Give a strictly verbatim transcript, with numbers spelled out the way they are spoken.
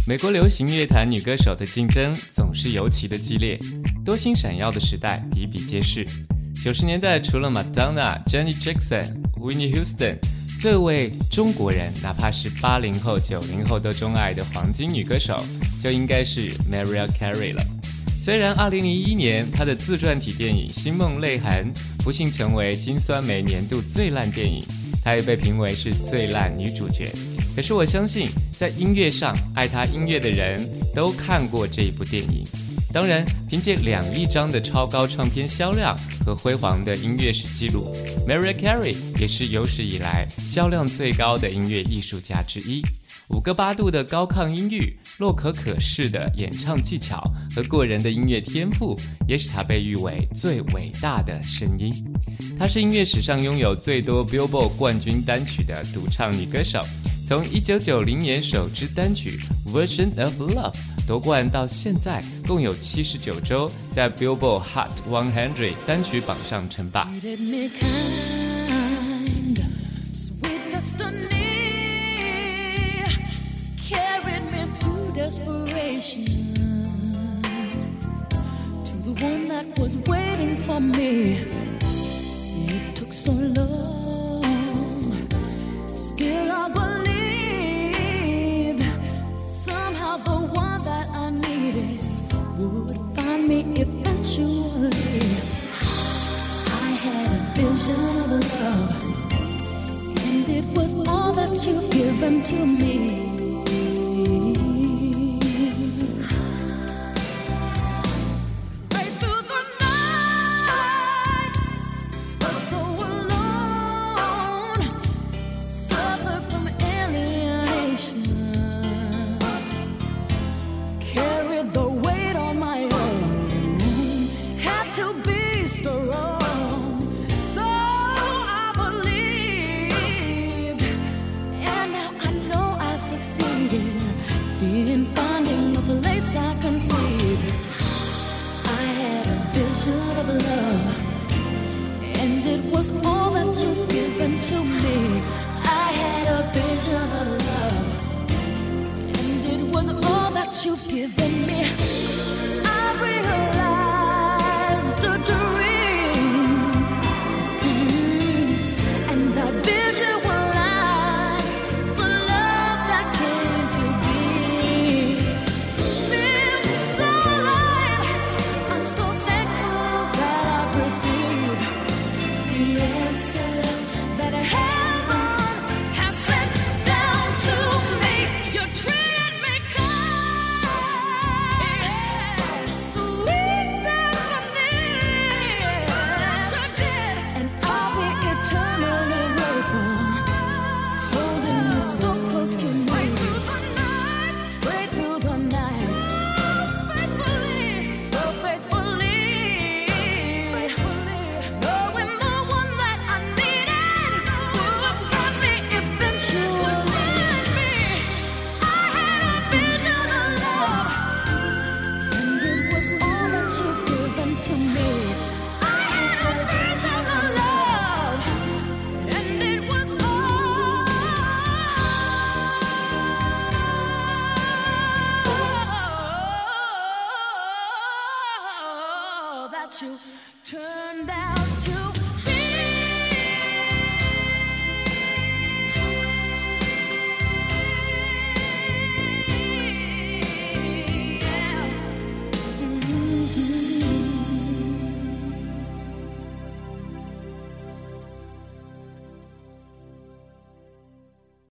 美国流行乐坛女歌手的竞争总是尤其的激烈，多星闪耀的时代比比皆是。九十年代除了 Madonna、Janet Jackson、Whitney Houston， 这位中国人哪怕是八零后、九零后都钟爱的黄金女歌手，就应该是 Mariah Carey 了。虽然二零零一年她的自传体电影《星梦泪痕》不幸成为金酸梅年度最烂电影，她也被评为是最烂女主角，可是我相信在音乐上爱她音乐的人都看过这一部电影。当然，凭借两亿张的超高唱片销量和辉煌的音乐史记录， Mariah Carey 也是有史以来销量最高的音乐艺术家之一。五个八度的高亢音域，洛可可式的演唱技巧和过人的音乐天赋，也使她被誉为最伟大的声音。她是音乐史上拥有最多 Billboard 冠军单曲的独唱女歌手，从一九九零年首支单曲 Version of Love 夺冠到现在，共有七十九周在 Billboard Hot 一百单曲榜上称霸。 Desperation to the one that was waiting for me. It took so long, still I believed somehow the one that I needed would find me eventually. I had a vision of love, and it was all that you've given to me. In finding a place I conceived, I had a vision of love, and it was all that you've given to me. I had a vision of love, and it was all that you've given me.